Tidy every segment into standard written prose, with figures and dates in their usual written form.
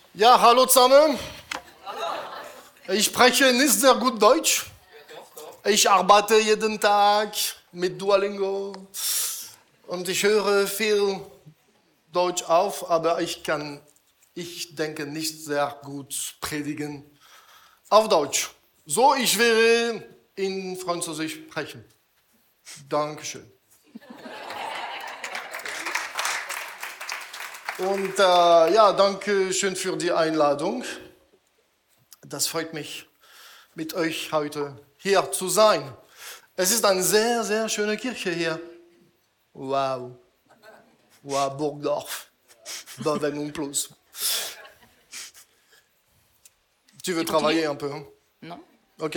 Ja, hallo zusammen. Ich spreche nicht sehr gut Deutsch. Ich arbeite jeden Tag mit Duolingo und ich höre viel Deutsch auf, aber ich denke, nicht sehr gut predigen auf Deutsch. So, ich werde in Französisch sprechen. Dankeschön. Und danke schön für die Einladung. Das freut mich, mit euch heute hier zu sein. Es ist eine sehr, sehr schöne Kirche hier. Wow. Wow, Burgdorf. Bavin und plus. Tu veux travailler un peu? Hein? Non. Ok.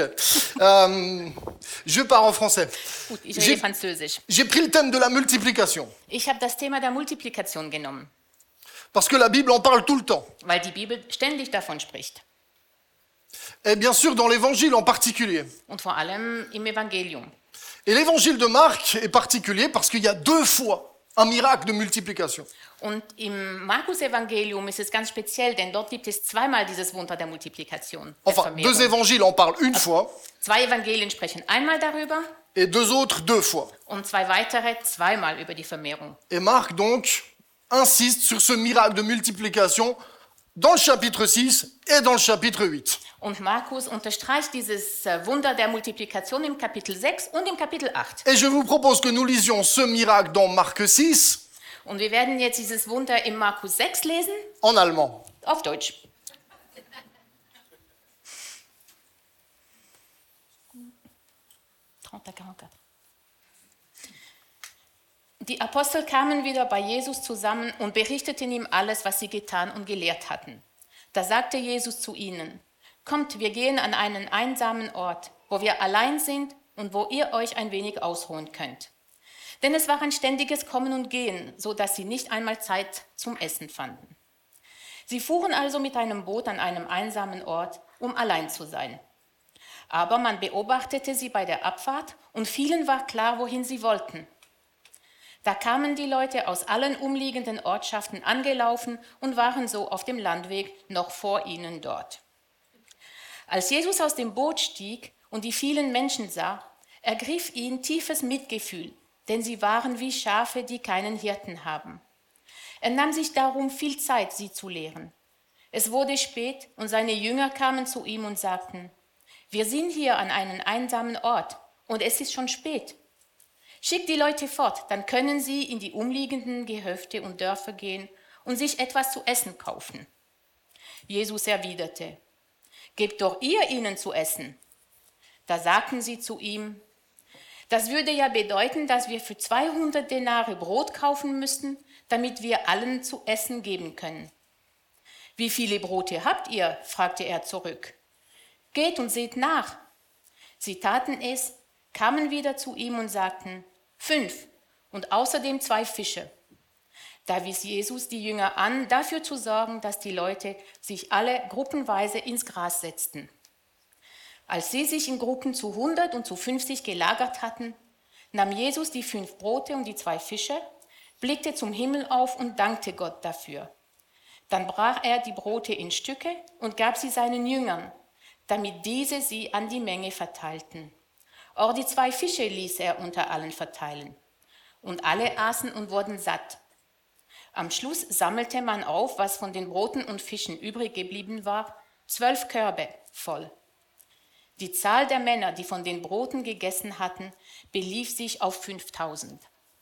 Je parle en français. Gut, ich rede Französisch. J'ai pris le thème de la multiplication. Ich habe das Thema der Multiplikation genommen, Parce que la Bible en parle tout le temps. weil die Bibel ständig davon spricht. Et bien sûr dans l'évangile en particulier. Und vor allem im Evangelium. Et l'évangile de Marc est particulier parce qu'il y a 2 fois un miracle de multiplication. Und im Markus-Evangelium ist es ganz speziell, denn dort gibt es zweimal dieses Wunder der Multiplikation. Der Enfin, Vermehrung. 2 évangiles en parlent une fois 2 Evangelien sprechen einmal darüber et 2 autres 2 fois. und 2 weitere zweimal über die Vermehrung. Et Marc donc insiste sur ce miracle de multiplication dans le chapitre 6 et dans le chapitre 8. Und Markus unterstreicht dieses Wunder der Multiplikation im Kapitel 6 und im Kapitel 8. Et je vous propose que nous lisions ce miracle dans Marc 6 Und wir werden jetzt dieses Wunder im Markus 6 lesen, en allemand. auf Deutsch. Die Apostel kamen wieder bei Jesus zusammen und berichteten ihm alles, was sie getan und gelehrt hatten. Da sagte Jesus zu ihnen: Kommt, wir gehen an einen einsamen Ort, wo wir allein sind und wo ihr euch ein wenig ausruhen könnt. Denn es war ein ständiges Kommen und Gehen, so dass sie nicht einmal Zeit zum Essen fanden. Sie fuhren also mit einem Boot an einem einsamen Ort, um allein zu sein. Aber man beobachtete sie bei der Abfahrt und vielen war klar, wohin sie wollten. Da kamen die Leute aus allen umliegenden Ortschaften angelaufen und waren so auf dem Landweg noch vor ihnen dort. Als Jesus aus dem Boot stieg und die vielen Menschen sah, ergriff ihn tiefes Mitgefühl, denn sie waren wie Schafe, die keinen Hirten haben. Er nahm sich darum viel Zeit, sie zu lehren. Es wurde spät und seine Jünger kamen zu ihm und sagten: Wir sind hier an einem einsamen Ort und es ist schon spät. Schickt die Leute fort, dann können sie in die umliegenden Gehöfte und Dörfer gehen und sich etwas zu essen kaufen. Jesus erwiderte: Gebt doch ihr ihnen zu essen. Da sagten sie zu ihm: Das würde ja bedeuten, dass wir für 200 Denare Brot kaufen müssten, damit wir allen zu essen geben können. Wie viele Brote habt ihr? Fragte er zurück. Geht und seht nach. Sie taten es, kamen wieder zu ihm und sagten: 5 und außerdem 2 Fische. Da wies Jesus die Jünger an, dafür zu sorgen, dass die Leute sich alle gruppenweise ins Gras setzten. Als sie sich in Gruppen zu 100 und zu 50 gelagert hatten, nahm Jesus die 5 Brote und die 2 Fische, blickte zum Himmel auf und dankte Gott dafür. Dann brach er die Brote in Stücke und gab sie seinen Jüngern, damit diese sie an die Menge verteilten. Auch die 2 Fische ließ er unter allen verteilen. Und alle aßen und wurden satt. Am Schluss sammelte man auf, was von den Broten und Fischen übrig geblieben war, 12 Körbe voll. Die Zahl der Männer, die von den Broten gegessen hatten, belief sich auf 5000.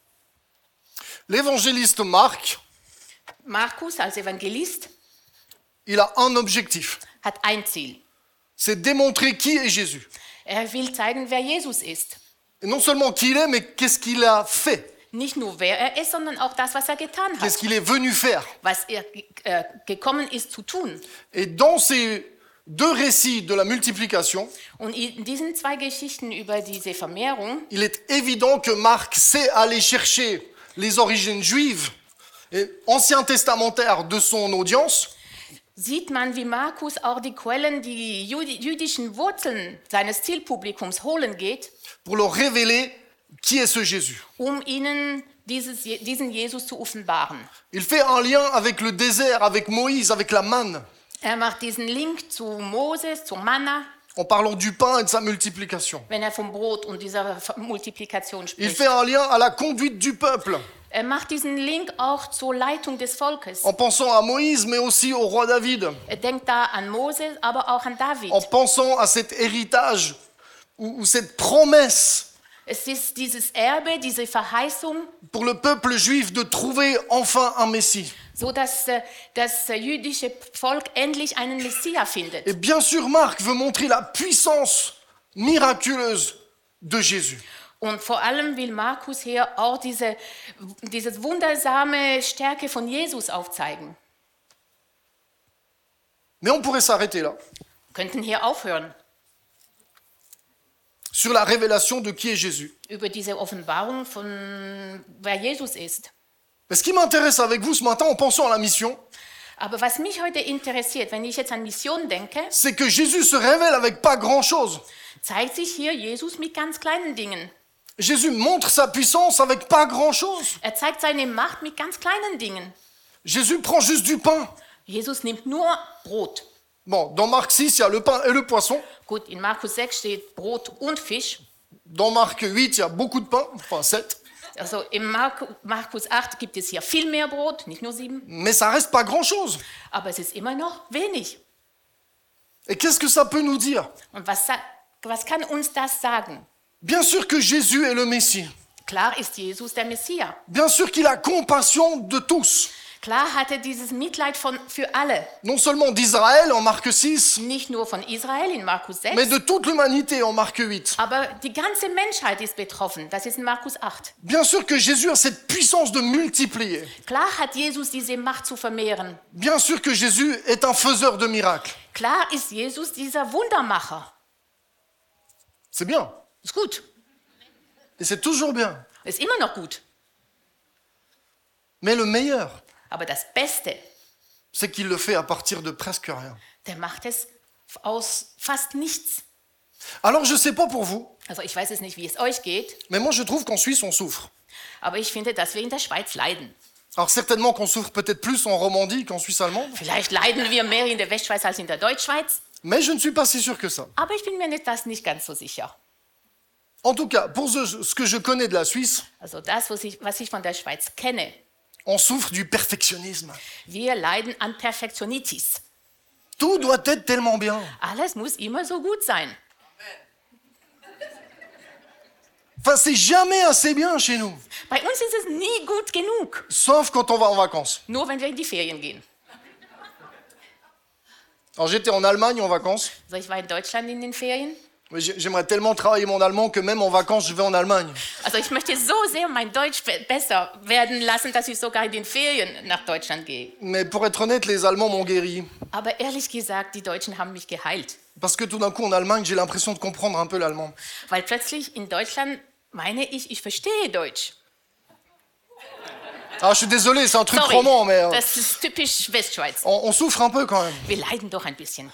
L'évangéliste Marc, Markus als Evangelist il a un objectif. hat ein Ziel. C'est démontrer qui est Jésus. Er will zeigen, wer Jesus ist. Et non seulement qui il est, mais qu'est-ce qu'il a fait. Nicht nur wer er ist, sondern auch das, was er getan Qu'est-ce hat, qu'il est venu faire. was er gekommen ist zu tun. Et dans ces 2 récits de la multiplication, Und in diesen 2 Geschichten über diese Vermehrung il est évident que Marc sait aller chercher les origines juives et ancien testamentaires de son audience sieht man, wie Markus auch die Quellen, die jüdischen Wurzeln seines Zielpublikums holen geht, pour leur révéler qui est ce Jésus. um ihnen diesen Jesus zu offenbaren. Il fait un lien avec le désert, avec Moïse, avec la manne. Er macht diesen Link zu Moses, zu Manna, en parlant du pain et de sa multiplication. wenn er vom Brot und dieser Multiplikation Il spricht. fait un lien à la conduite du peuple, Er macht diesen Link auch zur Leitung des Volkes. en pensant à Moïse, mais aussi au roi David, Er denkt da an Moses, aber auch an David. en pensant à cet héritage ou cette promesse Es ist dieses Erbe, diese Verheißung, pour le peuple juif de trouver enfin un Messie. so dass das jüdische Volk endlich einen Messia findet. Et bien sûr, Marc veut montrer la puissance miraculeuse de Jésus. Und vor allem will Markus hier auch diese wundersame Stärke von Jesus aufzeigen. Mais on pourrait s'arrêter là, Wir könnten hier aufhören sur la révélation de qui est Jésus. über diese Offenbarung von wer Jesus ist. Mais ce qui m'intéresse avec vous ce matin en pensant à la mission, Aber was mich heute interessiert, wenn ich jetzt an Mission denke, c'est que Jésus se révèle avec pas grand-chose. zeigt sich hier Jesus mit ganz kleinen Dingen. Jésus montre sa puissance avec pas grand-chose. Er zeigt seine Macht mit ganz kleinen Dingen. Jésus prend juste du pain. Jesus nimmt nur Brot. Bon, dans Marc 6, il y a le pain et le poisson. Gut, in Markus 6 steht Brot und Fisch. Dans Marc 8, il y a beaucoup de pain, enfin 7. Also im Markus 8 gibt es hier viel mehr Brot, nicht nur 7. Mais ça reste pas grand-chose. Aber es ist immer noch wenig. Et qu'est-ce que ça peut nous dire? Und was kann uns das sagen? Bien sûr que Jésus est le Messie. Klar ist Jesus der Messias. Bien sûr qu'il a compassion de tous. Klar hat er dieses Mitleid für alle. Non seulement d'Israël en Marc 6, Nicht nur von Israel in Markus 6, mais de toute l'humanité en Marc 8. aber die ganze Menschheit ist betroffen. Das ist in Markus 8. Bien sûr que Jésus a cette puissance de multiplier. Klar hat Jesus diese Macht zu vermehren. Bien sûr que Jésus est un faiseur de miracles. Klar ist Jesus dieser Wundermacher. C'est bien. Ist gut. Et c'est toujours bien. Ist immer noch gut. Mais le meilleur, Aber das Beste, c'est qu'il le fait à partir de presque rien. der macht es aus fast nichts. Alors je sais pas pour vous, Also ich weiß es nicht, wie es euch geht, mais moi je trouve qu'en Suisse on souffre. aber ich finde, dass wir in der Schweiz leiden. Alors certainement qu'on souffre peut-être plus en Romandie qu'en Suisse allemande, Vielleicht leiden wir mehr in der Westschweiz als in der Deutschschweiz, mais je ne suis pas si sûr que ça. aber ich bin mir das nicht ganz so sicher. En tout cas, pour ce que je connais de la Suisse, Also das, was ich von der Schweiz kenne, on souffre du perfectionnisme. wir leiden an Perfektionitis. Tout doit être tellement bien. Alles muss immer so gut sein. Enfin, c'est jamais assez bien chez nous, Bei uns ist es nie gut genug, sauf quand on va en vacances. nur wenn wir in die Ferien gehen. Alors j'étais en Allemagne en vacances. Also ich war in Deutschland in den Ferien. Mais j'aimerais tellement travailler mon allemand que même en vacances, je vais en Allemagne. Also ich möchte so sehr mein Deutsch besser werden lassen, dass ich sogar in den Ferien nach Deutschland gehe. Mais pour être honnête, les Allemands m'ont guéri. Aber ehrlich gesagt, die Deutschen haben mich geheilt. Parce que tout d'un coup, en Allemagne, j'ai l'impression de comprendre un peu l'allemand. Weil plötzlich in Deutschland meine ich verstehe Deutsch. Ah, je suis désolé, c'est un truc Sorry, roman, mais das ist typisch Westschweiz. on souffre un peu quand même. Wir leiden doch ein bisschen.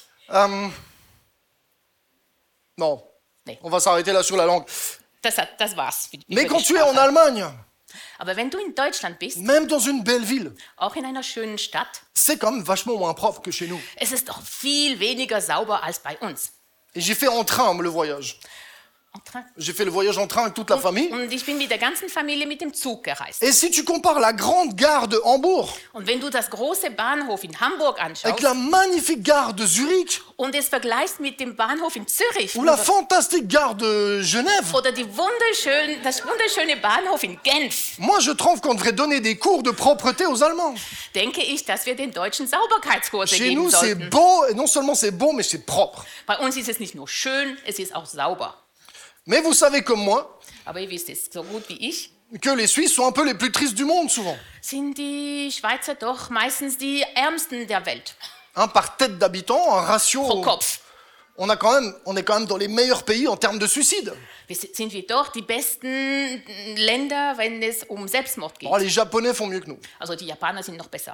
Non, Nee. on va s'arrêter là sur la langue. Das war's. Mais über quand die tu es en Sprache. Allemagne, Aber wenn du in Deutschland bist, même dans une belle ville, auch in einer schönen Stadt, c'est quand même vachement moins propre que chez nous. es ist doch viel weniger sauber als bei uns. Et j'ai fait en train le voyage. En train. J'ai fait le voyage en train avec toute la famille. Und ich bin mit der ganzen Familie mit dem Zug gereist. Et si tu compares la grande gare de Hambourg Und wenn du das große Bahnhof in Hamburg avec anschaust la magnifique gare de Zurich und es vergleichst mit dem Bahnhof in Zürich ou la fantastique gare de Genève, oder das wunderschöne Bahnhof in Genf, moi je trouve qu'on devrait donner des cours de propreté aux Allemands. denke ich, dass wir den Deutschen Sauberkeitskurse Chez geben nous c'est sollten. beau, et non seulement c'est beau, mais c'est propre. Bei uns ist es nicht nur schön, es ist auch sauber. Mais vous savez comme moi Aber ihr wisst es so gut wie ich, que les Suisses sont un peu les plus tristes du monde souvent. sind die Schweizer doch meistens die Ärmsten der Welt. Par tête d'habitant, un ratio... Pro Kopf. On est quand même dans les meilleurs pays en termes de suicide. Sind wir doch die besten Länder, wenn es um Selbstmord geht. Oh, les Japonais font mieux que nous. Also die Japaner sind noch besser.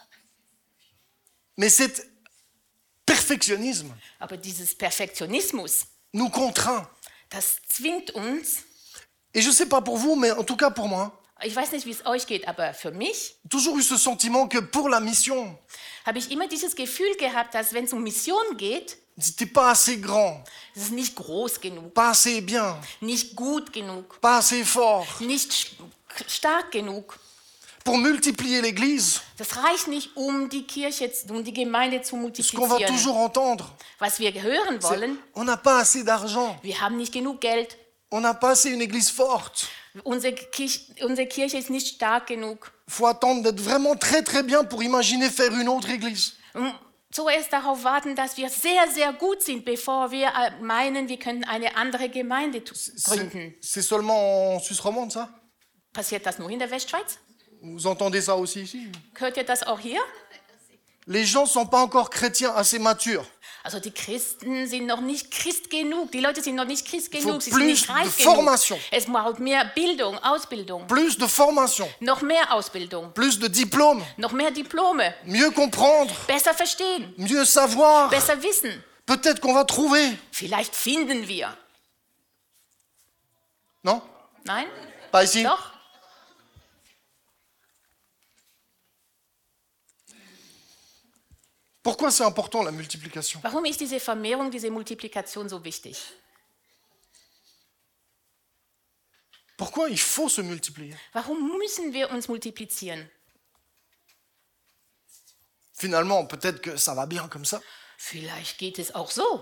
Mais cet perfectionnisme Aber dieses Perfektionismus, nous contraint. das zwingt uns, Et je sais pas pour vous, mais en tout cas pour moi, Ich weiß nicht, wie es euch geht, aber für mich toujours eu ce sentiment que pour la mission, habe ich immer dieses Gefühl gehabt, dass wenn es um Mission geht, c'était pas assez grand, es ist nicht groß genug, pas assez bien, nicht gut genug, pas assez fort. nicht stark genug. Pour multiplier l'Église, Das reicht nicht, um die Kirche, um die Gemeinde zu ce qu'on va multiplizieren. toujours entendre, Was wir hören c'est wollen, on n'a pas assez d'argent, wir haben nicht genug Geld, on n'a pas assez une Église forte. unsere Kirche ist nicht stark genug. Il faut attendre d'être vraiment très très bien pour imaginer faire une autre Église. Zuerst darauf warten, dass wir sehr, sehr gut sind, bevor wir meinen, wir könnten eine andere Gemeinde gründen. C'est seulement en Suisse romande, ça? Passiert das nur in der Westschweiz? Vous entendez ça aussi ici? Hört ihr das auch hier? Les gens ne sont pas encore chrétiens assez matures. Also die Christen sind noch nicht Christ genug. Die Leute sind noch nicht Christ Faut genug. Sie plus sind nicht de reif genug. formation. Es braucht mehr Bildung, Ausbildung. Plus de formation, Noch mehr Ausbildung. plus de diplômes, Noch mehr Diplome. mieux comprendre, Besser verstehen. mieux savoir. Besser wissen. Peut-être qu'on va trouver. Vielleicht finden wir. Non? Nein? Pas ici? Doch? Pourquoi c'est important la multiplication? Warum ist diese Vermehrung, diese Multiplikation so wichtig? Pourquoi il faut se multiplier? Warum müssen wir uns multiplizieren? Finalement, peut-être que ça va bien comme ça. Vielleicht geht es auch so.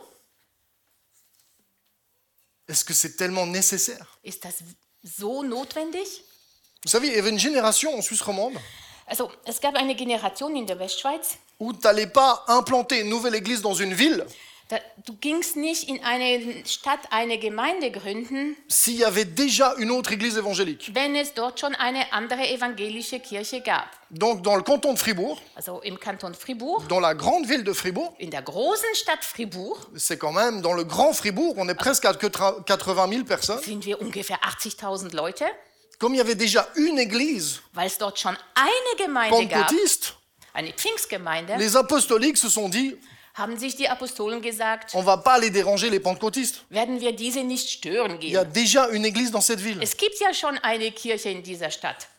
Est-ce que c'est tellement nécessaire? Ist das so notwendig? Vous savez, il y avait une génération en Suisse romande Also, es gab eine Generation in der Westschweiz, où tu n'allais pas implanter une nouvelle église dans une ville du gingst nicht in eine Stadt eine Gemeinde gründen, s'il y avait déjà une autre église évangélique. wenn es dort schon eine andere evangelische Kirche gab. Donc dans le canton de Fribourg, Also im Kanton Fribourg, dans la grande ville de Fribourg, in der großen Stadt Fribourg, c'est quand même dans le grand Fribourg, on est presque à 80 000 personnes. sind wir ungefähr 80.000 Leute, Comme il y avait déjà une église weil es dort schon eine Gemeinde gab, pentecôtiste, eine Pfingstgemeinde, les apostoliques se sont dit, haben sich die Apostolen gesagt, on va pas aller déranger les pentecôtistes. werden wir diese nicht stören Il y a gehen. déjà une église dans cette ville. Es gibt ja schon eine Kirche in dieser Stadt.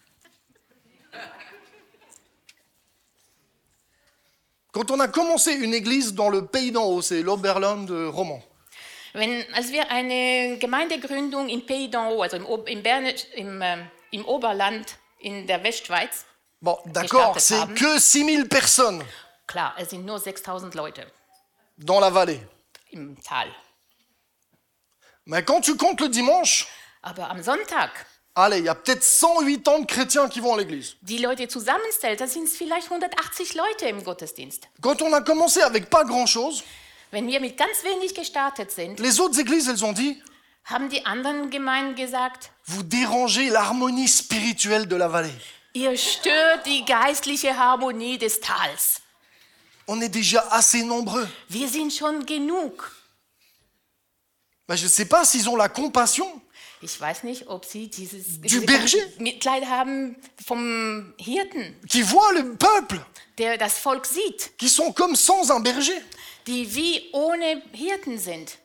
Quand on a commencé une église dans le pays d'en haut, c'est l'Oberland roman, Als wir eine Gemeindegründung in Pays d'en Haut, also im Oberland in der Westschweiz, bon, d'accord, gestartet c'est haben. que 6 000 personnes klar, es sind nur 6.000 Leute dans la vallée. im Tal. Mais quand tu comptes le dimanche, Aber am Sonntag, allez, il y a peut-être 180 chrétiens qui vont à l'église. die Leute zusammenzählt, dann sind es vielleicht 180 Leute im Gottesdienst. Quand on a commencé avec pas grand-chose, Wenn wir mit ganz wenig gestartet sind, les autres églises, elles ont dit, haben die anderen Gemeinden gesagt, vous dérangez l'harmonie spirituelle de la vallée. ihr stört die geistliche Harmonie des Tals. On est déjà assez nombreux. Wir sind schon genug. Ben, je ne sais pas s'ils ont la compassion Ich weiß nicht, ob sie dieses Du Berger? Mitleid haben vom Hirten, qui voient le peuple, der das Volk sieht, qui sont comme sans un berger. die wie ohne Hirten sind.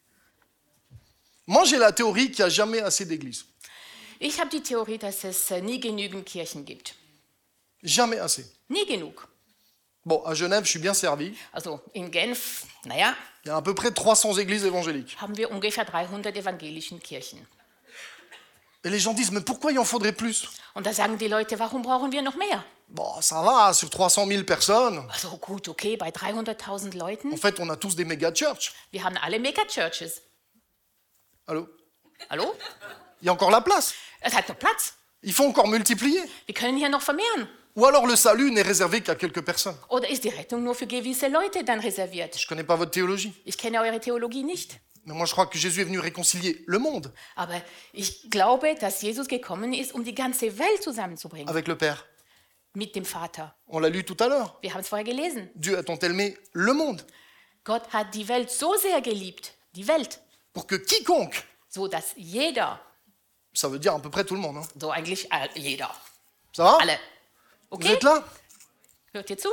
Moi, j'ai la théorie qu'il n'y a jamais assez d'églises. Ich habe die Theorie, dass es nie genügend Kirchen gibt. Jamais assez. Nie genug. Bon, à Genève, je suis bien servi. Also in Genf, naja, Il y a à peu près 300 églises évangéliques. haben wir ungefähr 300 evangelischen Kirchen. Et les gens disent, mais pourquoi il en faudrait plus? Und da sagen die Leute, warum brauchen wir noch mehr? Bon, ça va, sur 300 000 personnes. Also gut, okay, bei 300.000 Leuten, En fait, on a tous des méga-churches. wir haben alle Megachurches. Allô? Hallo? Il y a encore la place. Es hat noch Platz. Il faut encore multiplier. Wir können hier noch vermehren. Ou alors le salut n'est réservé qu'à quelques personnes. Oder ist die Rettung nur für gewisse Leute dann reserviert? Je ne connais pas votre théologie. Ich kenne eure Theologie nicht. Mais moi, je crois que Jésus est venu réconcilier le monde Aber ich glaube, dass Jesus gekommen ist, um die ganze Welt zusammenzubringen. avec le Père. Mit dem Vater. On l'a lu tout à l'heure. Wir haben es vorher gelesen. Dieu a tant aimé le monde Gott hat die Welt so sehr geliebt, die Welt, pour que quiconque, so dass jeder, ça veut dire à peu près tout le monde, hein. so eigentlich jeder, Ça va? alle. Vous Okay? êtes là? Hört ihr zu?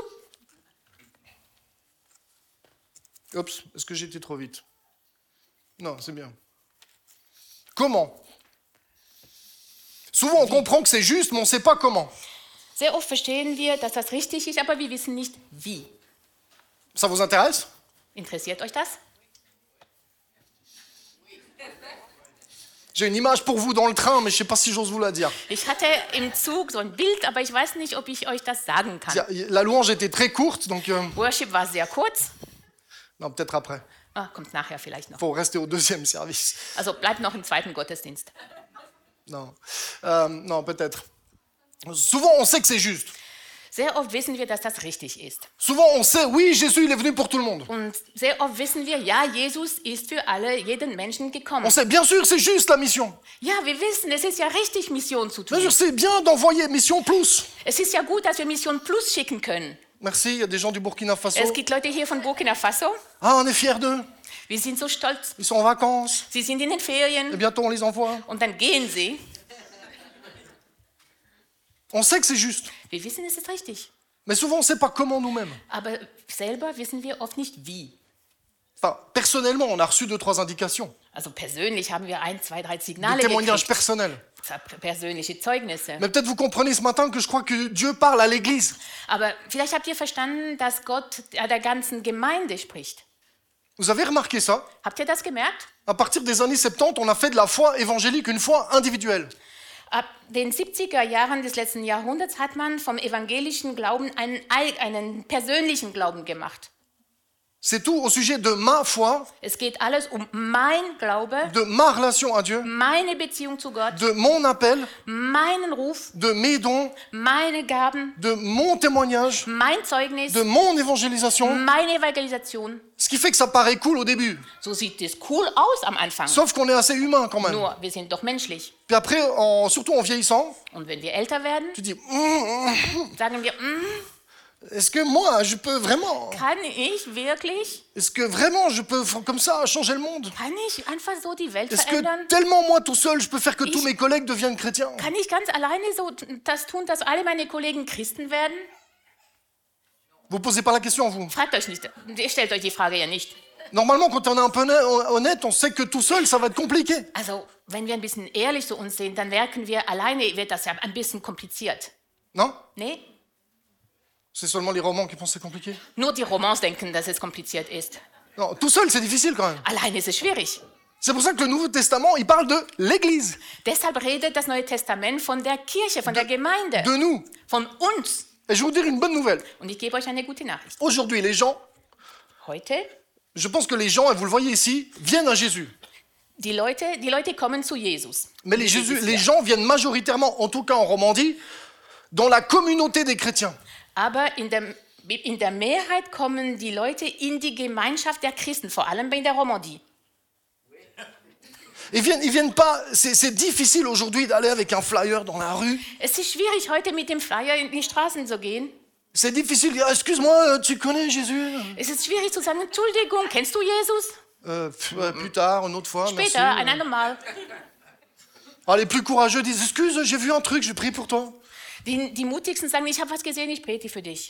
Oups, est-ce que j'étais trop vite? Non, c'est bien. Comment? Souvent, on comprend que c'est juste, mais on ne sait pas comment. Sehr oft verstehen wir, dass das richtig ist, aber wir wissen nicht, wie. Ça vous intéresse? Interessiert euch das? J'ai une image pour vous dans le train, mais je ne sais pas si j'ose vous la dire. Ich hatte im Zug so ein Bild, aber ich weiß nicht, ob ich euch das sagen kann. La louange était très courte, donc... Worship war sehr kurz. non, peut-être après. Ah, kommt nachher vielleicht noch. Il faut rester au deuxième service. Also bleibt noch im zweiten Gottesdienst. Non, non, peut-être. Souvent, on sait que c'est juste. Sehr oft wissen wir, dass das richtig ist. Souvent, on sait, oui, Jésus, il est venu pour tout le monde. Und sehr oft wissen wir, ja, Jesus ist für alle, jeden Menschen gekommen. On sait, bien sûr, c'est juste la mission. Ja, wir wissen, es ist ja richtig, Mission zu Bien tun. sûr, c'est bien d'envoyer Mission Plus. Es ist ja gut, dass wir Mission Plus schicken können. Merci, il y a des gens du Burkina Faso. Es gibt Leute hier von Burkina Faso. Ah, on est fiers d'eux. Wir sind so stolz. Ils sont en vacances. Sie sind in den Et Ferien bientôt, on les envoie. und dann gehen sie. On sait que c'est juste. Wir wissen, es ist richtig. Mais souvent, on ne sait pas comment nous-mêmes. Aber selber wissen wir oft nicht, wie. Enfin, personnellement, on a reçu 2-3 indications. Also persönlich haben wir 1, 2, 3 Des Signale témoignages gekriegt. personnels. Persönliche Zeugnisse. Mais peut-être vous comprenez ce matin que je crois que Dieu parle à l'Église. Aber vielleicht habt ihr verstanden, dass Gott der ganzen Gemeinde spricht. Vous avez remarqué ça? Habt ihr das gemerkt? À partir des années 70, on a fait de la foi évangélique une foi individuelle. Ab den 70er Jahren des letzten Jahrhunderts hat man vom evangelischen Glauben einen persönlichen Glauben gemacht. C'est tout au sujet de ma foi, Es geht alles um mein Glaube, de ma relation à Dieu, meine Beziehung zu Gott, de mon appel, meinen Ruf, de mes dons, meine Gaben, de mon témoignage, mein Zeugnis, de mon évangélisation. meine Evangelisation. Ce qui fait que ça paraît cool au début. So sieht es cool aus am Anfang. Sauf qu'on est assez humain quand même. Nur, wir sind doch menschlich. Puis après, surtout en vieillissant, Und wenn wir älter werden, tu dis, sagen wir, est-ce que moi, je peux vraiment, kann ich wirklich, est-ce que vraiment je peux comme ça changer le monde? kann ich einfach so die Welt Est-ce que verändern? tellement moi tout seul, je peux faire que tous mes collègues deviennent chrétiens? Kann ich ganz alleine so das tun, dass alle meine Kollegen Christen werden? Vous posez pas la question, vous. Fragt euch nicht, ihr stellt euch die Frage ja nicht. Normalement, quand on est un peu honnête, on sait que tout seul, ça va être compliqué. Also, wenn wir ein bisschen ehrlich zu uns sind, dann merken wir, alleine wird das ja ein bisschen kompliziert. Non? Nee? C'est seulement les romans qui pensent que c'est compliqué. Nur die Romans denken, dass es kompliziert ist. Non, tout seul, c'est difficile quand même. Alleine ist es schwierig. C'est pour ça que le Nouveau Testament, il parle de l'Église, Deshalb redet das Neue Testament von der Kirche, von der Gemeinde, de nous. von uns. Et je vais vous dire une bonne nouvelle. Und ich gebe euch eine gute Nachricht. Aujourd'hui, les gens, Heute, je pense que les gens, et vous le voyez ici, viennent à Jésus. die Leute kommen zu Jesus. Mais les gens viennent majoritairement, en tout cas en Romandie, dans la communauté des chrétiens. Aber in der Mehrheit kommen die Leute in die Gemeinschaft der Christen, vor allem in der Romandie. Ils viennent pas. C'est difficile aujourd'hui d'aller avec un flyer dans la rue. Es ist schwierig, heute mit dem Flyer in die Straßen zu gehen. C'est difficile de dire, excuse-moi, tu connais Jésus? Es ist schwierig zu sagen, Entschuldigung, kennst du Jesus? Plus tard, une autre fois, Später, ein merci. andermal. Ah, les plus courageux disent, excuse, j'ai vu un truc, je prie pour toi. Die Mutigsten sagen, ich habe was gesehen, ich bete für dich.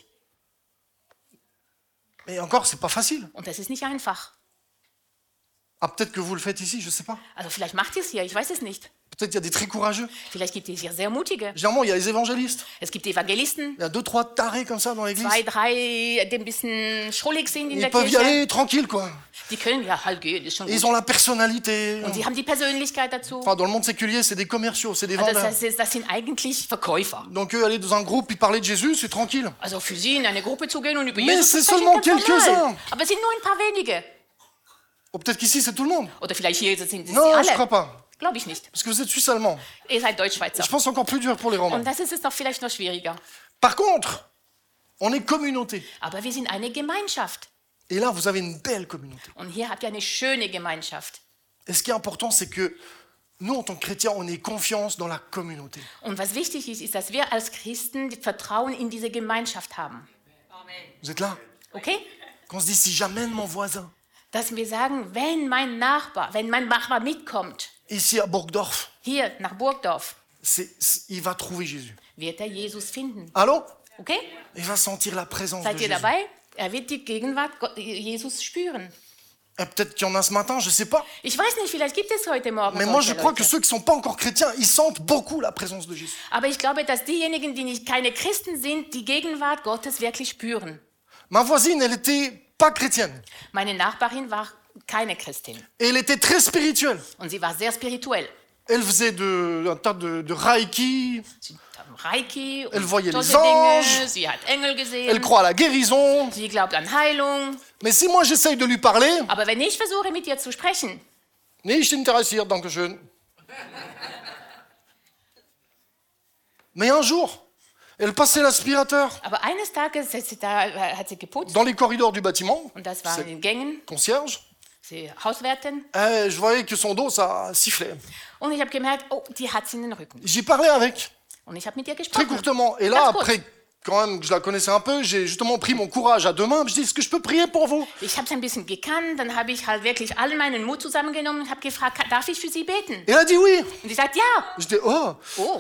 Mais encore, c'est pas facile. Und das ist nicht einfach. Ah, peut-être que vous le faites ici, je sais pas. Also vielleicht macht ihr es hier, ich weiß es nicht. Peut-être il y a des très courageux. Vielleicht gibt es hier sehr Mutige. Généralement, il y a les évangélistes. Es gibt Evangelisten, Il y a 2-3 tarés comme ça dans l'église. 2, 3, die ein bisschen schrullig sind in Ils der peuvent y Kirche. aller tranquille, quoi. Die können ja halt gehen, ist schon Ils gut. ont la personnalité. Und die haben die Persönlichkeit dazu. Enfin, dans le monde séculier, c'est des commerciaux, c'est des Also vendeurs. das sind eigentlich Verkäufer. Donc eux, aller dans un groupe et parler de Jésus, c'est tranquille. Also für sie in eine Gruppe zu gehen und über Mais Jesus zu c'est sprechen, seulement ganz normal. quelques-uns. Aber es sind nur ein paar wenige. Ou peut-être qu'ici, c'est tout le monde. Oder vielleicht hier sind es Non, je alle. crois pas. Glaube ich nicht. Parce que vous êtes suisse-allemand. Ihr seid Deutschschweizer. Je pense encore plus dur pour les Romains. Und das ist es doch vielleicht noch schwieriger. Par contre, on est communauté. Aber wir sind eine Gemeinschaft. Et là, vous avez une belle communauté. Und hier habt ihr eine schöne Gemeinschaft. Et ce qui est important, c'est que nous, en tant que chrétiens, on ait confiance dans la communauté. Und was wichtig ist, ist, dass wir als Christen Vertrauen in diese Gemeinschaft haben. Vous êtes là? Okay? Qu'on se dit, si j'amène mon voisin Dass wir sagen, wenn mein Nachbar mitkommt, ici à Burgdorf, hier nach Burgdorf, il va trouver Jésus. wird er Jesus finden. Allô? Okay? Il va sentir la présence de Seid ihr Jésus. dabei? Er wird die Gegenwart Jesus spüren. Peut-être qu'il y en a ce matin, je ne sais pas. Ich weiß nicht, vielleicht gibt es heute Morgen Mais moi, je solche crois que Leute. ceux qui ne sont pas encore chrétiens, ils sentent beaucoup la présence de Jésus. Aber ich glaube, dass diejenigen, die nicht keine Christen sind, die Gegenwart Gottes wirklich spüren. Ma voisine, elle n'était pas chrétienne. Meine Nachbarin war keine Christin Et elle était très spirituelle. und sie war sehr spirituell. Elle faisait un tas de Reiki. Sie hat Reiki Elle und voyait les solche Dinge. anges. Sie hat Engel Elle gesehen. croit à la guérison. Sie glaubt an Heilung. Mais si moi, j'essaye de lui parler, Aber wenn ich versuche, mit ihr zu sprechen, nicht interessiert, danke schön. Mais un jour, elle passait l'aspirateur aber eines Tages hat sie geputzt dans les corridors du bâtiment. und das war in C'est den Gängen, concierge. sie Hauswärtin. Je voyais que son dos, ça sifflait. Und ich habe gemerkt, oh, die hat sie in den Rücken. J'y parlais avec, Und ich habe mit ihr très gesprochen. courtement. Et là, Ganz kurz. après, quand même, que je la connaissais un peu, j'ai justement pris mon courage à deux mains. Je dis, est-ce que je peux prier pour vous? Ich habe es ein bisschen gekannt, dann habe ich halt wirklich all meinen Mut zusammengenommen und habe gefragt, darf ich für sie beten? Et elle a dit oui. Und sie sagt, ja. Je dis, oh. Oh.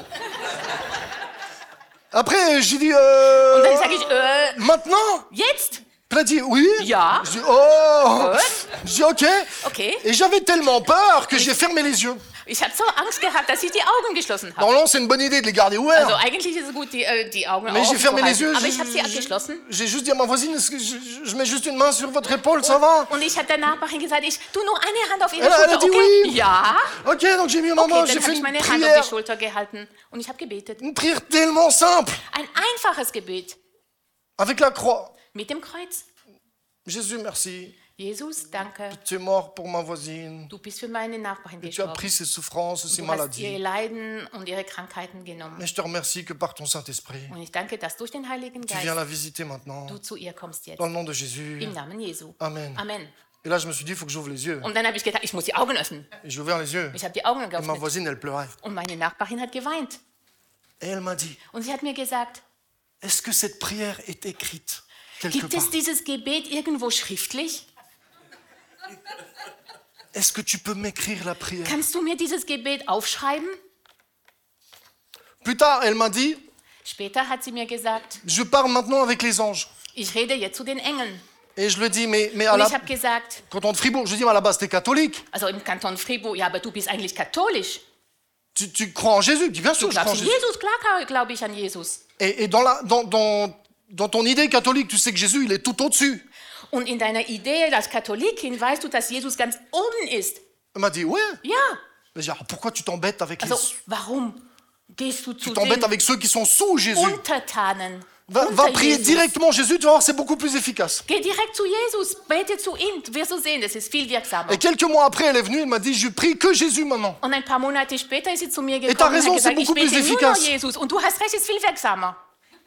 Après, j'ai dit, Und dann sage ich, maintenant? jetzt? Elle a dit oui. Ja. Je dis, oh. Gut. Je dis, ok. Okay. Et j'avais tellement peur que j'ai fermé les yeux. Ich habe so Angst gehabt, dass ich die Augen geschlossen habe. Normalement, c'est une bonne idée de les garder ouverts. Also eigentlich ist es gut, die Augen Mais j'ai offen fermé zu les halten. yeux. Aber ich habe sie abgeschlossen. J'ai juste dit à ma voisine, est-ce que je mets juste une main sur votre épaule, ça va? Und ich habe der Nachbarin gesagt, ich tu nur eine Hand auf ihre Elle a Schulter, dit okay? oui. Ja. Ok, donc j'ai mis ma Okay, main, dann j'ai habe fait ich une meine Hand auf prière. die Schulter gehalten und ich habe gebetet. Une prière tellement simple, Ein einfaches Gebet avec la croix. mit dem Kreuz. Jésus, merci. Jesus, danke. Tu es mort pour ma voisine. Du bist für meine Nachbarin Tu as gestorben. pris ses souffrances, ses Du hast ihr maladies. Leiden und ihre Krankheiten genommen. Mais je te remercie que par ton Saint-Esprit, Und ich danke, dass durch den Heiligen tu viens Geist la visiter maintenant. du zu ihr kommst jetzt. Dans le nom de Jésus. Im Namen Jesu. Amen. Amen. Et là, je me suis dit, il faut que j'ouvre les yeux. Und dann habe ich gedacht, ich muss die Augen öffnen. Et j'ai ouvert les yeux. Ich habe die Augen Et ma geöffnet. voisine, elle pleurait. Und meine Nachbarin hat geweint. Et elle m'a dit, Und sie hat mir gesagt, est-ce que cette prière est écrite quelque gibt part? es dieses Gebet irgendwo schriftlich? Est-ce que tu peux m'écrire la prière? Kannst du mir dieses Gebet aufschreiben? Plus tard, elle m'a dit, Später hat sie mir gesagt, je parle maintenant avec les anges. ich rede jetzt zu den Engeln. Et je lui ai dit, mais à Und la, ich habe gesagt, canton de Fribourg, je lui ai dit, mais à la base, t'es catholique. also im Kanton Fribourg, ja, aber du bist eigentlich katholisch. Tu crois en Jésus? Je dis, bien sûr, Du je crois en glaubst an Jésus. Jesus? Klar glaube ich an Jesus. Et dans ton idée catholique, tu sais que Jésus, il est tout au-dessus. Und in deiner Idee als Katholikin weißt du, dass Jesus ganz oben ist. Elle m'a dit, ouais. Ja. Mais j'ai dit, alors pourquoi tu t'embêtes avec Also, les... warum gehst du Tu zu t'embêtes den avec ceux qui sont sous Jésus. Untertanen? Va unter prier Jesus? directement Jésus, tu vas voir, c'est beaucoup plus efficace. Geh direkt zu Jesus, bete zu ihm, du wirst du sehen, das ist viel wirksamer. Et quelques mois après, elle est venue, elle m'a dit, je prie que Jésus maintenant. Und ein paar Monate später ist sie zu mir t'as gekommen und raison, hat gesagt, c'est ich beaucoup plus bete nur noch efficace. Jesus. Und du hast recht, es ist viel wirksamer.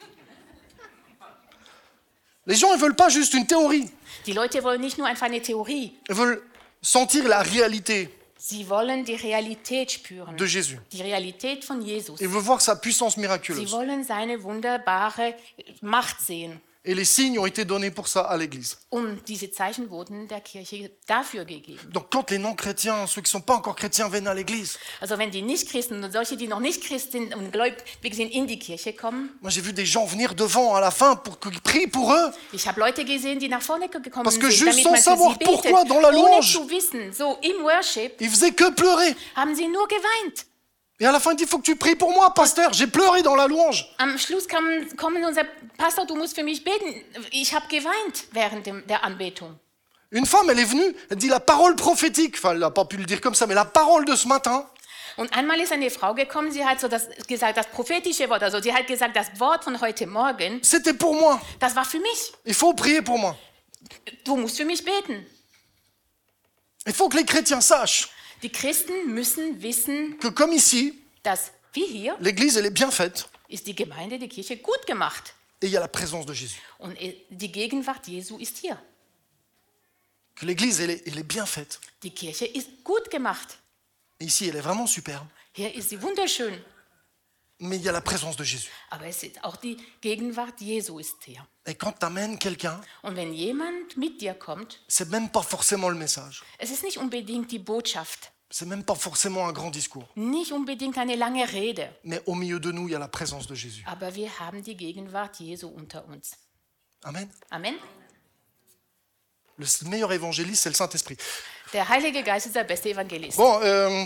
Les gens, ils veulent pas juste une théorie. Die Leute wollen nicht nur einfach eine Theorie, Ils veulent sentir la réalité sie wollen die Realität spüren. de Jésus. Die Realität von Jesus. Ils veulent voir sa puissance Sie miraculeuse. wollen seine wunderbare Macht sehen. Et les signes ont été donnés pour ça à l'Église. Und diese Zeichen wurden der Kirche dafür gegeben. Donc quand les non-chrétiens, ceux qui ne sont pas encore chrétiens, viennent à l'Église, Also wenn die Nichtchristen und solche, die noch nicht Christ sind und gläubig sind, in die Kirche kommen. moi j'ai vu des gens venir devant à la fin pour qu'ils prient pour eux. Ich habe Leute gesehen, die nach vorne gekommen Parce que sind, juste damit sans man für savoir sie betet. pourquoi, dans la Ohne louange. zu wissen, so im Worship, Ils faisaient que pleurer. haben sie nur geweint. Et à la fin, il dit, il faut que tu pries pour moi, pasteur. J'ai pleuré dans la louange. Am Schluss kommen unser Pastor, du musst für mich beten. Ich habe geweint während der Anbetung. Une femme, elle est venue, elle dit la parole prophétique. Enfin, elle n'a pas pu le dire comme ça, mais la parole de ce matin, Und einmal ist eine Frau gekommen, sie hat so gesagt, das prophetische Wort, also sie hat gesagt, das Wort von heute Morgen, c'était pour moi. das war für mich. Il faut prier pour moi. Du musst für mich beten. Il faut que les chrétiens sachent Die Christen müssen wissen, que comme ici, dass wie hier l'Église, elle est bien faite. ist die Gemeinde, die Kirche gut gemacht. Et il y a la présence de Jésus. Und die Gegenwart Jesu ist hier. Que l'Église, elle est bien faite. Die Kirche ist gut gemacht. Et ici, elle est vraiment superbe. Hier ist sie wunderschön. Mais il y a la présence de Jésus. Aber es ist auch die Gegenwart Jesu ist hier. Et quand tu amènes quelqu'un, Und wenn jemand mit dir kommt, c'est même pas forcément le message. es ist nicht unbedingt die Botschaft, C'est même pas forcément un grand discours. nicht unbedingt eine lange Rede, Mais au milieu de nous, il y a la présence de Jésus. aber wir haben die Gegenwart Jesu unter uns. Amen. Amen. Le meilleur évangéliste, c'est le Saint-Esprit. Der Heilige Geist ist der beste Evangelist. Bon,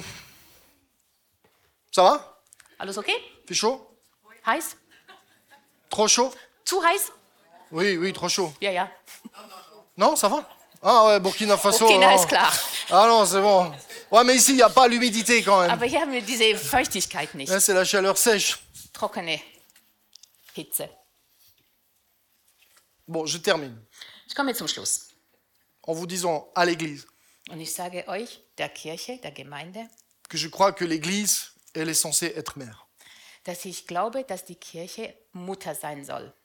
ça va? Alles okay? Fait chaud? Heiß? Trop chaud? Zu heiß? Oui, oui, trop chaud. Ja, ja. Non, ça va? Ah ouais, Burkina Faso. Burkina non. ist klar. Ah non, c'est bon. Ouais, mais ici, il n'y a pas l'humidité quand même. Aber hier haben wir diese Feuchtigkeit nicht. Là, c'est la chaleur sèche. Trockene Hitze. Bon, je termine Ich komme jetzt zum Schluss. en vous disant à l'Église Und ich sage euch, der Kirche, der Gemeinde, que je crois que l'Église, elle est censée être mère. dass ich glaube, dass die Kirche Mutter sein soll.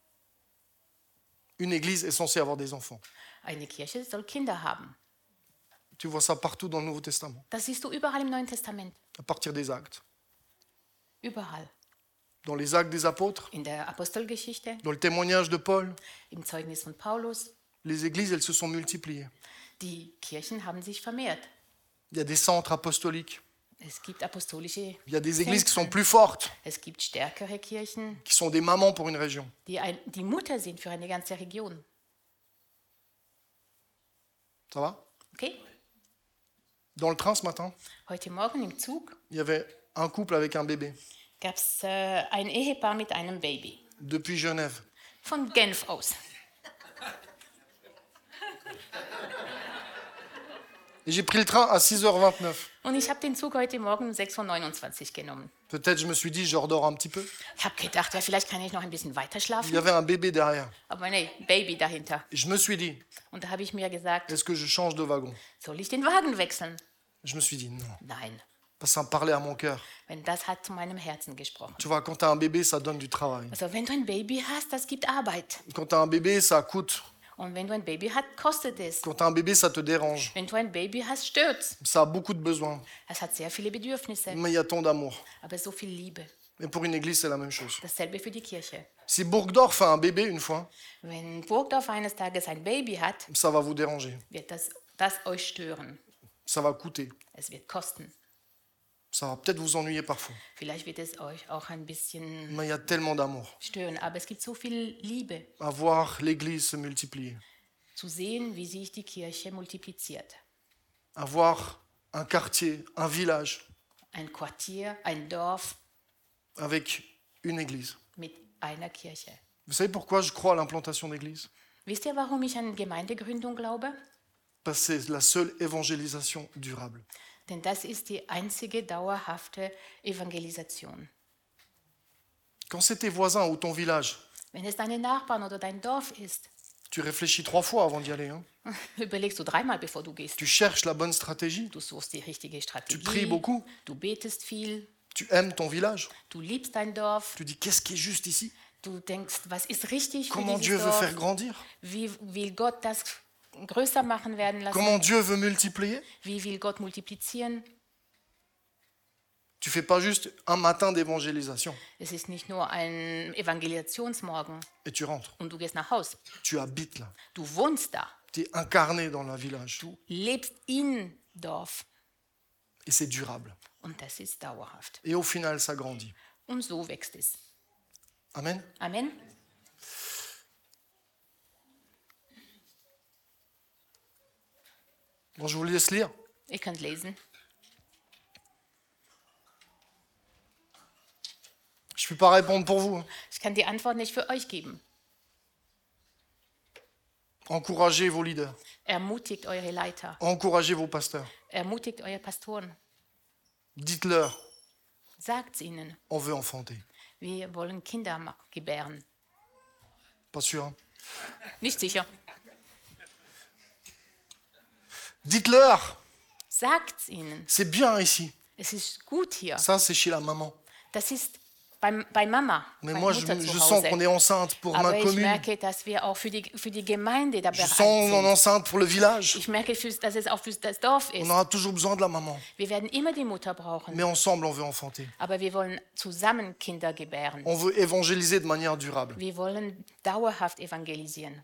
Une Église est censée avoir des enfants. Eine Kirche soll Kinder haben. Tu vois ça partout dans le Nouveau Testament, Das siehst du überall im Neuen Testament. à partir des actes. Überall. Dans les actes des apôtres, In der Apostelgeschichte, dans le témoignage de Paul, im Zeugnis von Paulus. les églises, elles se sont multipliées. Die Kirchen haben sich vermehrt. Il y a des centres apostoliques. Es gibt apostolische Il y a des églises qui sont Zentren. plus fortes, Es gibt stärkere Kirchen, qui sont des mamans pour une région. die Mutter sind für eine ganze Region. Ça va? Okay? Dans le train ce matin, Heute Morgen im Zug il y avait un couple avec un bébé gab es ein Ehepaar mit einem Baby. depuis Genève. Von Genf aus. Et j'ai pris le train à 6h29. Und ich habe den Zug heute Morgen um 6.29 Uhr genommen. Peut-être je me suis dit, je redors un petit peu. Ich habe gedacht, ja, vielleicht kann ich noch ein bisschen weiter Il y schlafen. avait un bébé derrière. Aber nee, Baby dahinter. Et je me suis dit, Und da habe ich mir gesagt, est-ce que je change de wagon? soll ich den Wagen wechseln? Je me suis dit, non. Nein. Parce que ça me parlait à mon cœur. Wenn das hat zu meinem Herzen gesprochen. Tu vois, quand tu as un bébé, ça donne du travail. Also wenn du ein Baby hast, das gibt Arbeit. Quand tu as un bébé, ça coûte. Und wenn du ein Baby hast, kostet es. Quand tu as un bébé, ça te dérange. Wenn du ein Baby hast, stört's. Ça a beaucoup de besoins. Es hat sehr viele Bedürfnisse, Mais il y a tant d'amour. aber so viel Liebe. Et pour une église, c'est la même chose. Dasselbe für die Kirche. Si Burgdorf a un bébé une fois, Wenn Burgdorf eines Tages ein Baby hat, ça va vous déranger. wird das euch stören. Ça va coûter. Es wird kosten. Ça va peut-être vous ennuyer parfois. Vielleicht wird es euch auch ein bisschen Mais il y a tellement d'amour. stören, aber es gibt so viel Liebe, À voir l'église se multiplier. zu sehen, wie sich die Kirche multipliziert. À voir un quartier, un village Ein Quartier, ein Dorf avec une église. mit einer Kirche. Vous savez pourquoi je crois à l'implantation d'église? Wisst ihr, warum ich an Gemeindegründung glaube? Parce que c'est la seule évangélisation durable. Denn das ist die einzige dauerhafte Evangelisation. Quand c'est tes voisins ou ton village, Wenn es deine Nachbarn oder dein Dorf ist, tu réfléchis 3 fois avant d'y aller. Hein. überlegst du dreimal, bevor du gehst. Tu cherches la bonne stratégie. Du suchst die richtige Tu Strategie, pries beaucoup. du betest viel, Tu aimes ton village. du liebst dein Dorf, Tu dis qu'est-ce qui est juste ici? du denkst, was ist richtig für Comment Dieu dieses veut faire Dorf, grandir? wie will Gott das größer machen werden lassen, Comment Dieu veut multiplier? wie will Gott multiplizieren. Tu fais pas juste un matin d'évangélisation Es ist nicht nur ein Evangelisationsmorgen et tu rentres. und du gehst nach Haus. Tu habites là. Du wohnst da, Tu es incarné dans le village. du lebst in Dorf Et c'est durable. und das ist dauerhaft. Et au final, ça grandit. Und so wächst es. Amen. Amen. Bon, je vous laisse lire. Ihr könnt lesen. Je ne peux pas répondre pour vous. Ich kann die Antwort nicht für euch geben. Encouragez vos leaders. Ermutigt eure Leiter. Encouragez vos pasteurs. Ermutigt eure Pastoren. Dites-leur, Sagt's ihnen. on veut enfanter. Wir wollen Kinder gebären. Pas sûr. Hein? Nicht sicher. Dites-leur, Sagt's ihnen. c'est bien ici. Es ist gut hier. Ça, c'est chez la maman. Das ist bei Mama, Mais bei moi, je, Mutter zu je sens Hause. qu'on est enceinte pour Aber ma ich commune. merke, dass wir auch für die Gemeinde da Je bereit sens qu'on est sind. enceinte pour le village. Ich merke, dass es auch für das Dorf On ist. aura toujours besoin de la maman. Wir werden immer die Mutter brauchen. Mais ensemble, on veut enfanter. Aber wir wollen zusammen Kinder gebären. On veut évangéliser de manière durable. Wir wollen dauerhaft evangelisieren.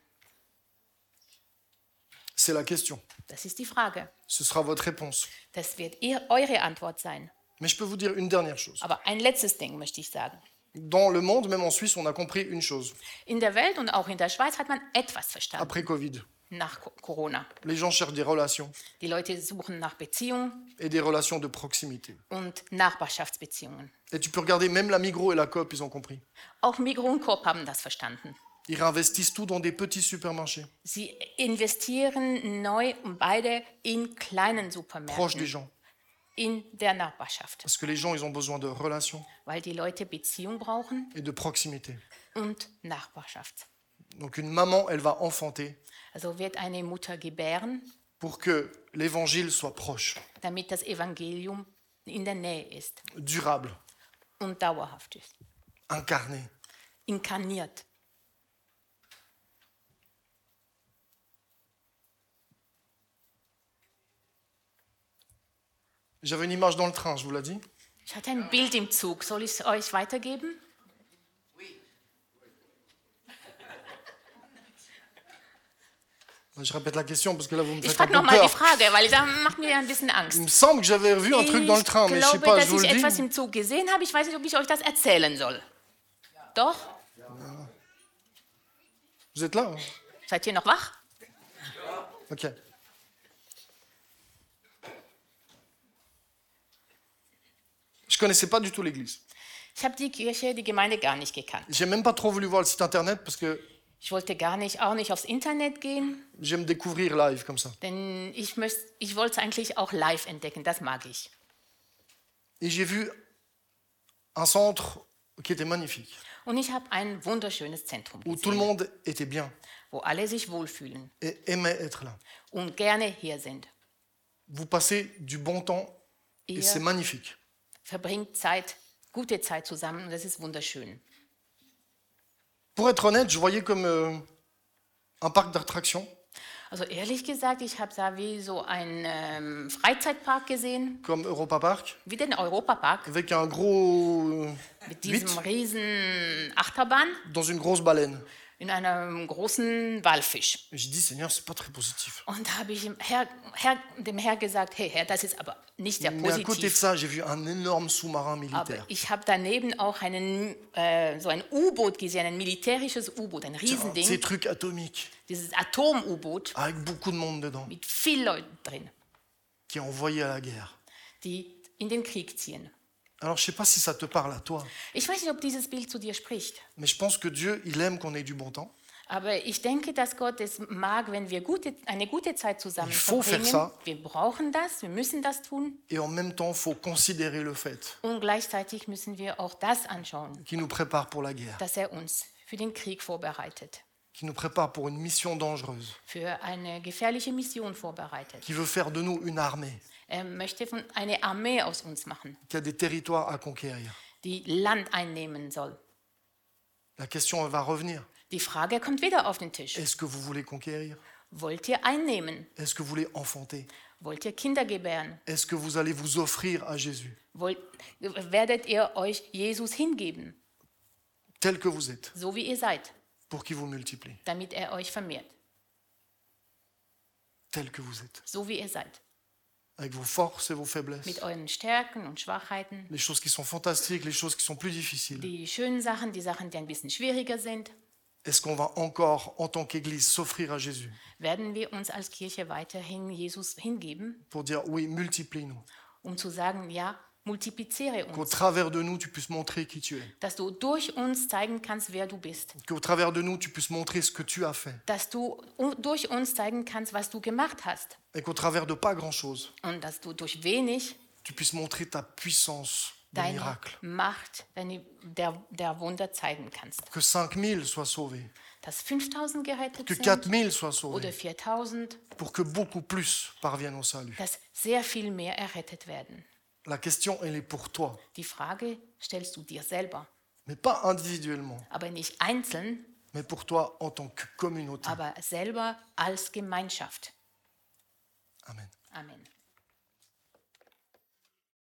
C'est la question. Das ist die Frage. Ce sera votre réponse. Das wird eure Antwort sein. Mais je peux vous dire une dernière chose. Aber ein letztes Ding möchte ich sagen. Dans le monde, même en Suisse, on a compris une chose In der Welt und auch in der Schweiz hat man etwas verstanden. après Covid. nach Corona. Les gens cherchent des relations Die Leute suchen nach Beziehungen et des relations de proximité. und Nachbarschaftsbeziehungen. Et tu peux regarder, même la Migros et la Coop, ils ont compris. Auch Migros und Coop haben das verstanden. Ils réinvestissent tout dans des petits supermarchés, Sie investieren neu und beide in kleinen proches des Supermärkten, gens. in der Nachbarschaft, Parce que les gens, ils ont besoin de relations weil die Leute Beziehung brauchen et de proximité. und Nachbarschaft. Donc une maman, elle va enfanter Also wird eine Mutter gebären, pour que l'évangile soit proche, damit das Evangelium in der Nähe ist durable, und dauerhaft ist, incarné. inkarniert. J'avais une image dans le train, je vous l'ai dit. Ich hatte ein Bild im Zug. Soll ich es euch weitergeben? Je répète la question parce que là, vous me Ich faites un frage peu nochmal die peur. Frage, weil da macht mir ein bisschen Angst. Il me semble que j'avais vu un truc dans le train, mais je sais glaube, pas, je dass vous ich le etwas dis. im Zug gesehen habe. Ich weiß nicht, ob ich euch das erzählen soll. Doch? Vous êtes là hein? Seid ihr noch wach? Ok. Je connaissais pas du tout l'église. Ich habe die Kirche, die Gemeinde gar nicht gekannt. J'ai même pas trop voulu voir le site internet parce que Ich wollte auch nicht aufs Internet gehen, j'aime découvrir live comme ça. denn ich wollte es eigentlich auch live entdecken. Das mag ich. Et j'ai vu un centre qui était magnifique, Und ich habe ein wunderschönes Zentrum où tout le gesehen, monde était bien wo alle sich wohlfühlen et aimait être là. und gerne hier sind. Vous passez du bon temps et c'est Ihr magnifique. verbringt Zeit, gute Zeit zusammen und das ist wunderschön. Pour être honnête, je voyais comme un parc d'attractions, Also ehrlich gesagt, ich habe da wie so einen Freizeitpark gesehen, comme Europa Park, wie den Europapark, avec un gros mit diesem Huit riesen Achterbahn dans une grosse baleine. in einem großen Walfisch. Et j'ai dit, Seigneur, c'est pas très positif. Und da habe ich dem Herr gesagt, hey Herr, das ist aber nicht sehr Mais à côté de positiv. ça, j'ai vu un énorme sous-marin Aber militaire. ich habe daneben auch so ein U-Boot gesehen, ein militärisches U-Boot, ein Ces Riesending, trucs atomiques, dieses Atom-U-Boot avec beaucoup de monde dedans, mit vielen Leuten drin, qui est envoyé à la guerre. die in den Krieg ziehen. Alors, je sais pas si ça te parle à toi, Ich weiß nicht, ob dieses Bild zu dir spricht, mais je pense que Dieu, il aime qu'on ait du bon temps. aber ich denke, dass Gott es mag, wenn wir eine gute Zeit zusammen Il faut faire verbringen. ça. Wir brauchen das, wir müssen das tun Et en même temps, il faut considérer le fait und gleichzeitig müssen wir auch das anschauen, qu'il nous prépare pour la guerre, dass er uns für den Krieg vorbereitet, qu'il nous prépare pour une mission dangereuse, für eine gefährliche Mission vorbereitet. qu'il veut faire de nous une armée, Er möchte eine Armee aus uns machen, qui a des territoires à conquérir. die Land einnehmen soll. La question elle va revenir. Die Frage kommt wieder auf den Tisch. Est-ce que vous voulez conquérir? Wollt ihr einnehmen? Est-ce que vous voulez enfanter? Wollt ihr Kinder gebären? Est-ce que vous allez vous offrir à Jésus, Werdet ihr euch Jesus hingeben, tel que vous êtes, so wie ihr seid, pour qu'il vous multiplie, damit er euch vermehrt, tel que vous êtes, so wie ihr seid, avec vos forces et vos faiblesses, mit euren Stärken und Schwachheiten, les choses qui sont fantastiques, les choses qui sont plus difficiles. die schönen Sachen, die Sachen, die ein bisschen schwieriger sind. Est-ce qu'on va encore, en tant qu'Église, s'offrir à Jésus Werden wir uns als Kirche weiterhin Jesus hingeben, pour dire oui, multiplie-nous, zu sagen, ja, multipliziere qu'au uns, travers de nous, tu puisses montrer qui tu es, dass du durch uns zeigen kannst, wer du bist, qu'au travers de nous, tu puisses montrer ce que tu as fait, dass du durch uns zeigen kannst, was du gemacht hast et qu'au travers de pas grand-chose, und dass du durch wenig tu puisses montrer ta puissance de deine miracle. Macht der Wunder zeigen kannst. Que 5000 soient sauvés, Dass 5000 gerettet que sind 4000 soient sauvés, oder 4000, pour que beaucoup plus parviennent au salut. dass sehr viel mehr errettet werden. La question, elle est pour toi, Die Frage stellst du dir selber, mais pas individuellement, aber nicht einzeln, mais pour toi en tant que communauté. aber selber als Gemeinschaft. Amen. Amen.